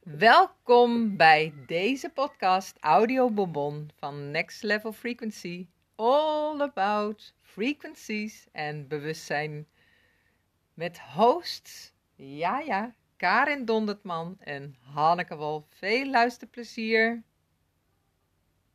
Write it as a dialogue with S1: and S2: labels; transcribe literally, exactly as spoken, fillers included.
S1: Welkom bij deze podcast Audio Bonbon van Next Level Frequency. All about frequencies en bewustzijn. Met hosts, ja ja, Karin Dondertman en Hanneke Wolf. Veel luisterplezier.